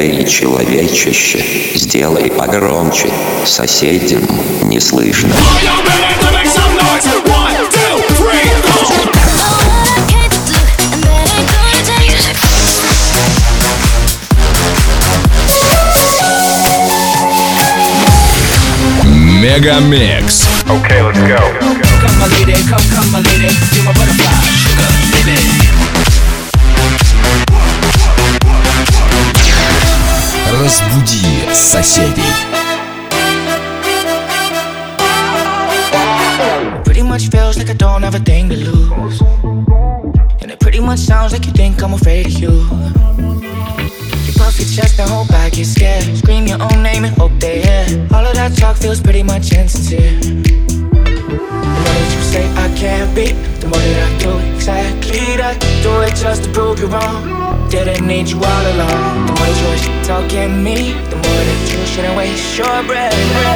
Эй, человечище, сделай погромче, соседям не слышно. Мегамикс. Okay, let's go. Come my lady, come my lady, you're my butterfly, sugar, baby. Разбуди соседей. Pretty much feels like I don't have a thing to lose, and it pretty much sounds like you think I'm afraid of you. You puff your chest and hold back, you're scared. Scream your own name and hope they hear. All of that talk feels pretty much insincere. The more that you say I can't be, the more that I do exactly that. Do it just to prove you wrong. Didn't need you all along. The more that you're talking me, the more that you shouldn't waste your breath.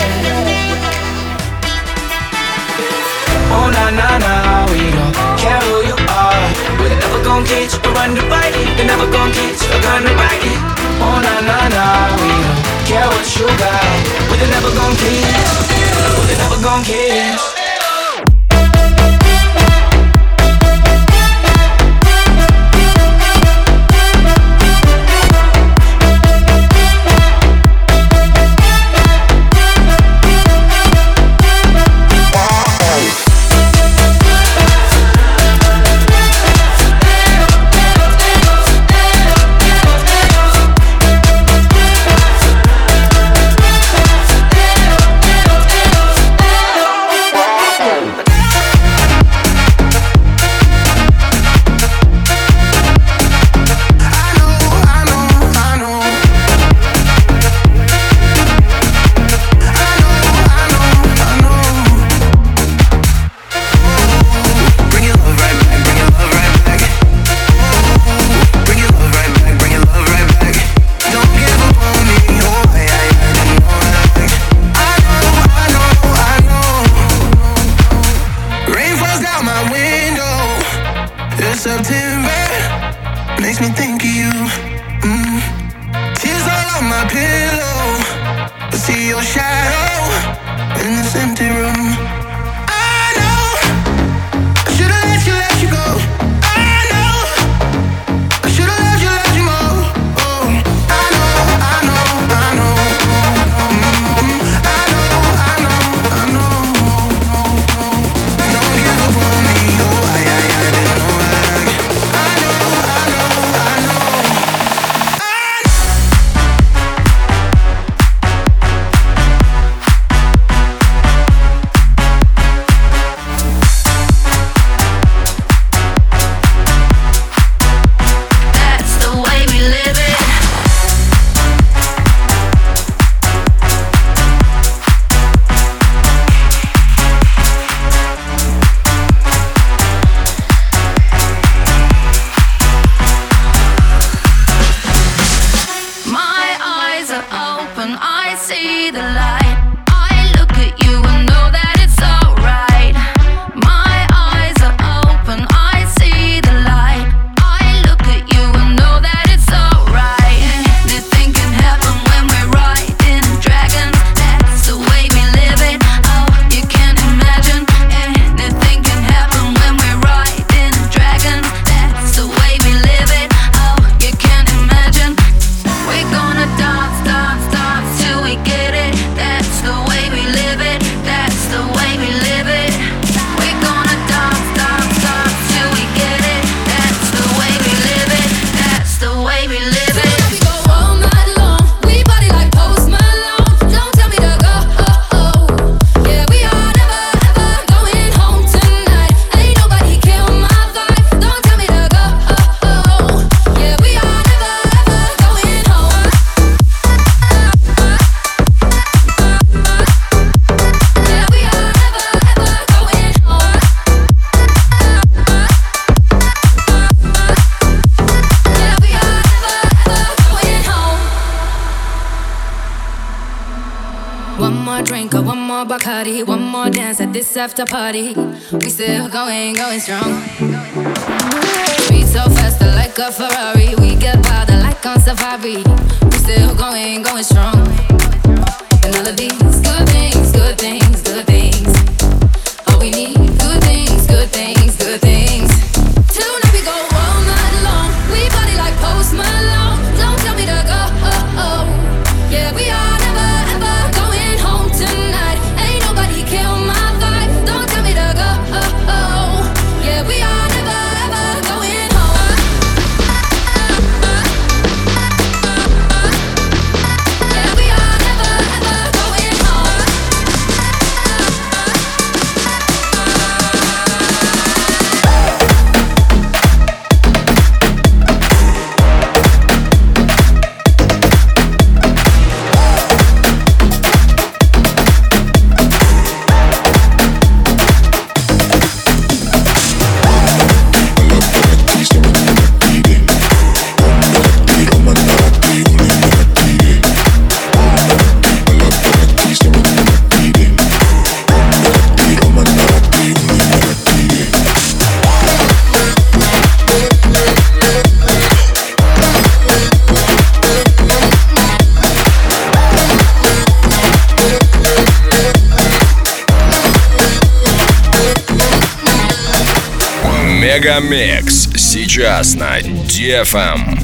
Oh na na na, we don't care who you are. We're never gonna get you to run the bite. They're never gonna get you to run the bite. Oh na na na, we don't care what you got. We're never gonna kiss. We're never gonna kiss. Bacardi, one more dance at this after party. We still going strong. Beat so fast, like a Ferrari. We get powder like like on safari. We still going, going strong. And all of these good things, good things, good things. All we need, good things, good things, good things. Tonight we go all night long. We party like Post Malone. Don't tell me to go. Yeah, we are never ever going home tonight. Ain't nobody kill my vibe. Don't tell me to go. Yeah, we are never ever going home. Yeah, we are never ever going home. Мегамикс сейчас на DFM.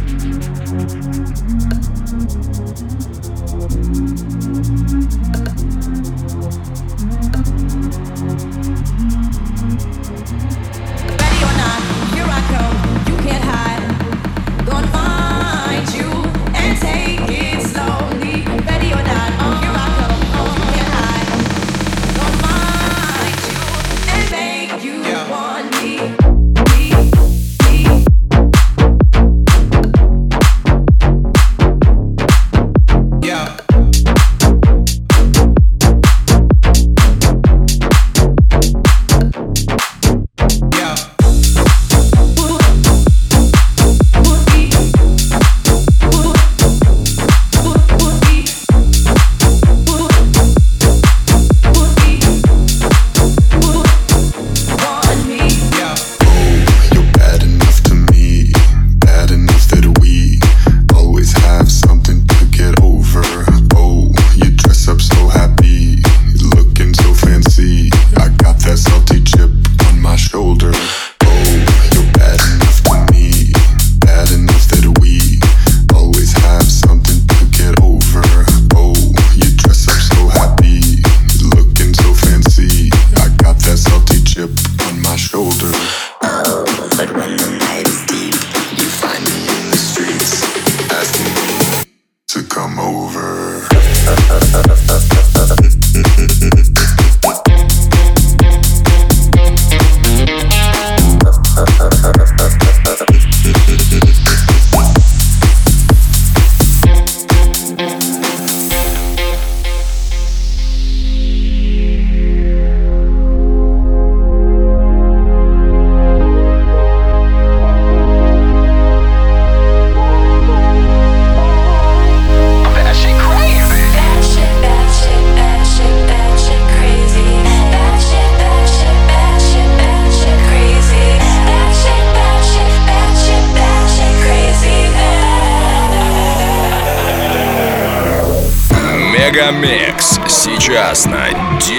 Мегамикс сейчас на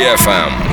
DFM.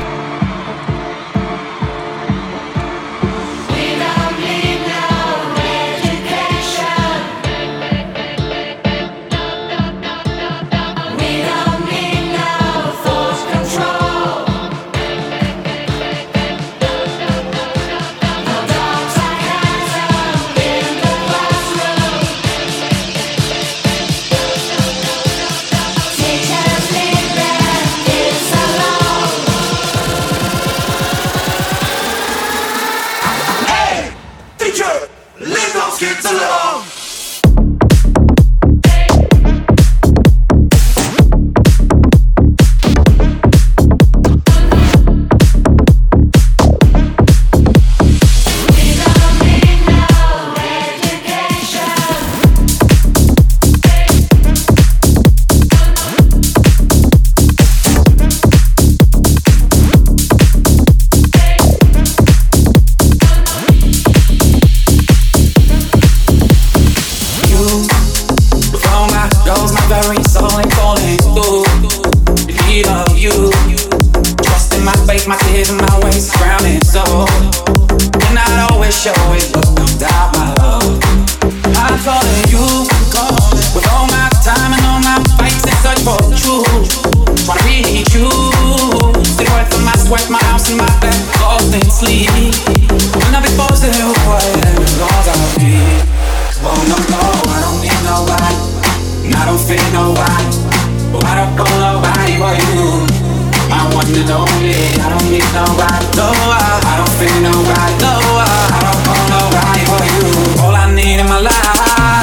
ways and my ways is grounded so and not always show it, but no doubt my love. I'm calling you, with all my time and all my fights in search for the truth. Tryna reach you, see the worth of my sweat, my house and my bed, lost in sleep. When I be forced to do what as long as I'll be. Oh no, no, I don't need nobody, and I don't feel nobody. Oh, I don't want nobody but you, my one and only. I don't need nobody, no, I don't feel nobody, no, I don't want nobody but you. All I need in my life.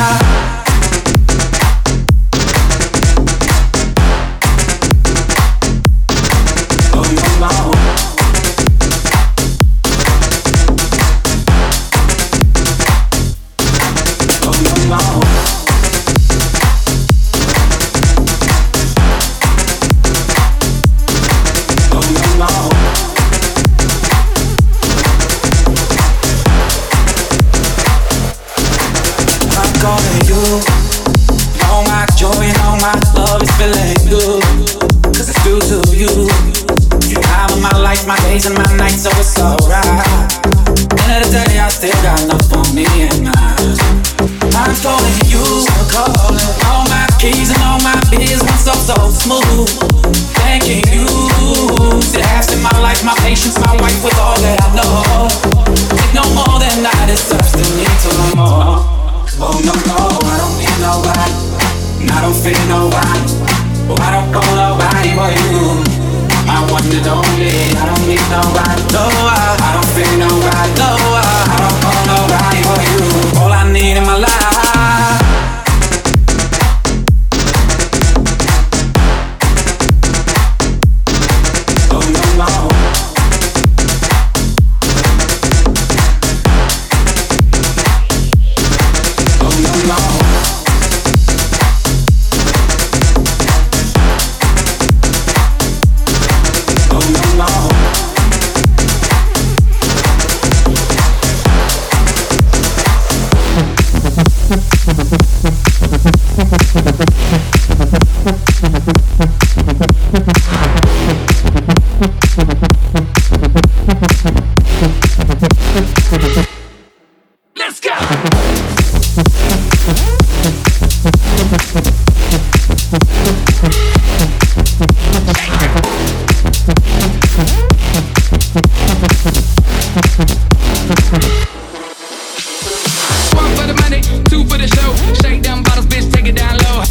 My days and my nights, so it's alright. End of the day, I still got enough for me and mine. I'm calling you, calling all my keys and all my biz went so smooth. Thanking you, to have in my life, my patience, my wife with all that I know. Take no more than I deserve, still need to learn more. Oh no, no, I don't need nobody, and I don't feel nobody. Oh, I don't want nobody but you, my one and only. I don't need nobody, no, I don't feel nobody, no, I don't want nobody but you. All I need in my life. Oh no, no. Oh no, no. Let's go! One for the money, two for the show. Shake them bottles, bitch, take it down low.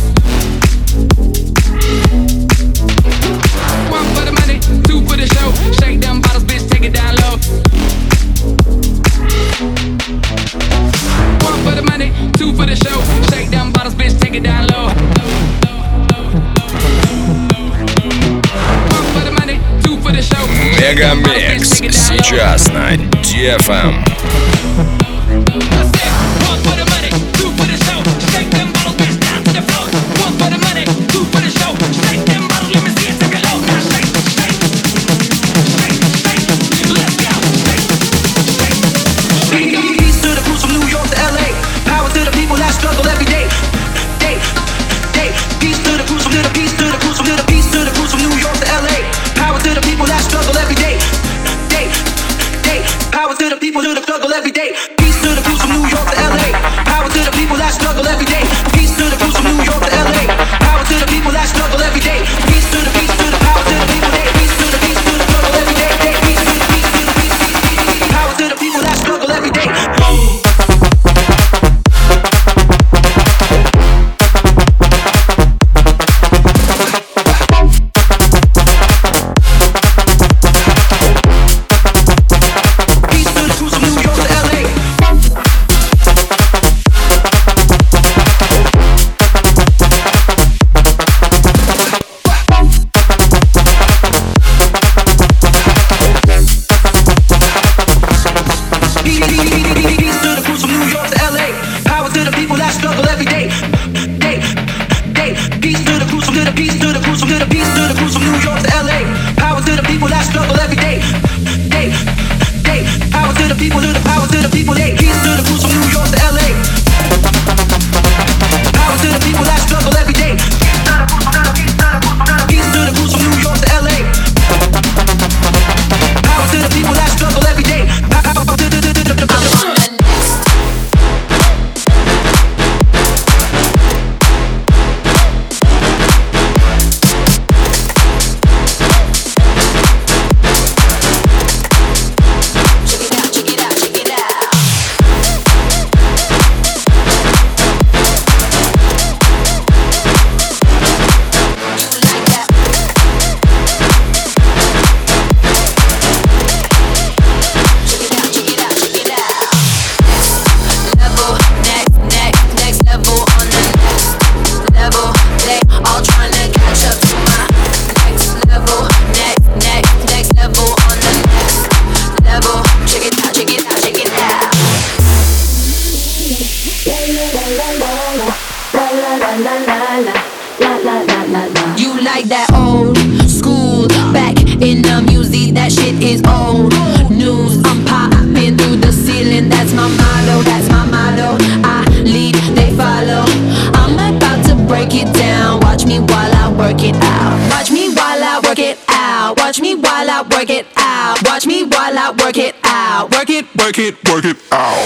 One for the money, two for the show. Shake them bottles, bitch, take it down low. One for the money, two for the show. Shake them bottles, bitch, take it down low. One for the money, two for the show. Мегамикс сейчас на DFM. Power to the people who struggle every day. Peace to the crews from New York to LA. Power to the people that struggle every day. Peace to the crews from New York to LA. Power to the people that struggle every day. Peace to the power to the people. Peace to the struggle every day. Peace to the power to the people that struggle every day. You like that old school, back in the music, that shit is old news. I'm popping through the ceiling, that's my motto, that's my motto. I lead, they follow. I'm about to break it down. Watch me while I work it out. Watch me while I work it out. Watch me while I work it out. Watch me while I work it out. Work it, work it, work it out.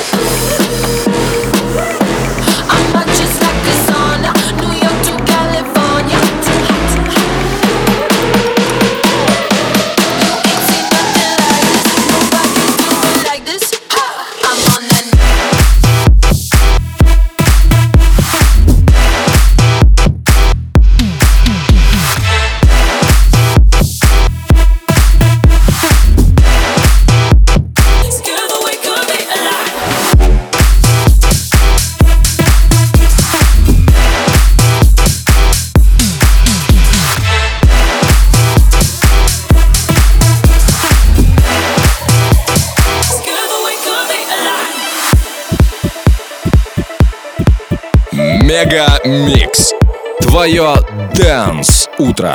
I'm not just like the sun, New York to California. Мега Микс. Твое Dance утро.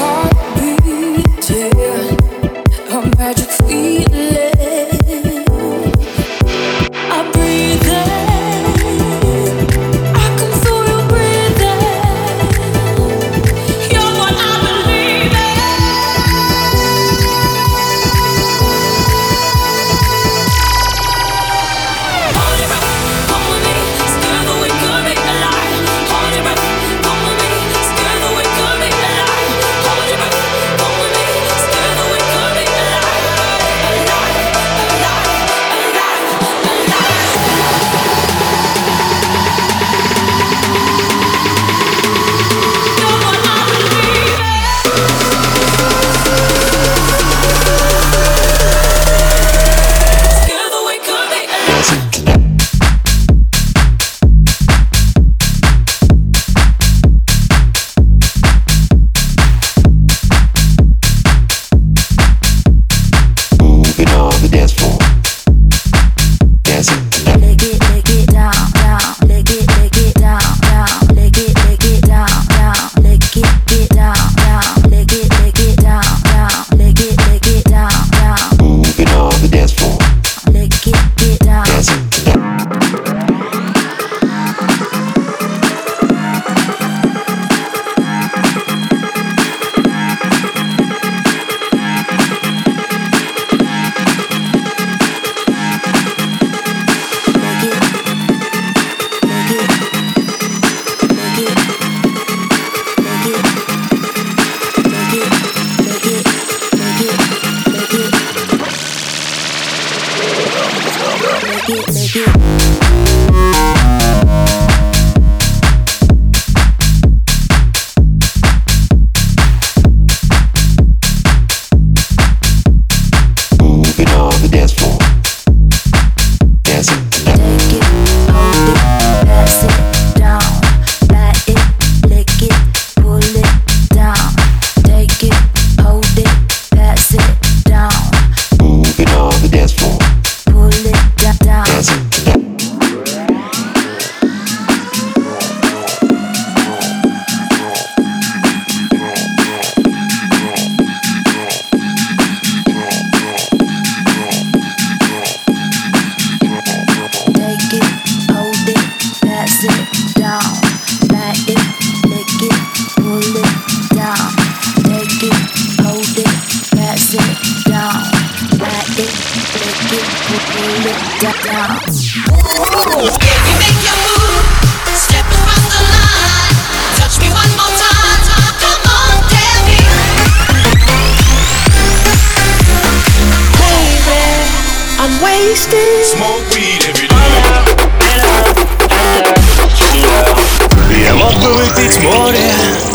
Я мог бы выпить море,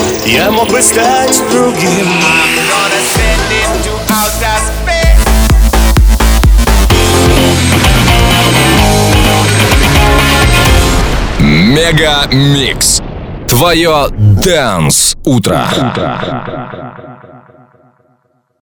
я мог бы стать другим. Мега Микс. Твое Dance утро.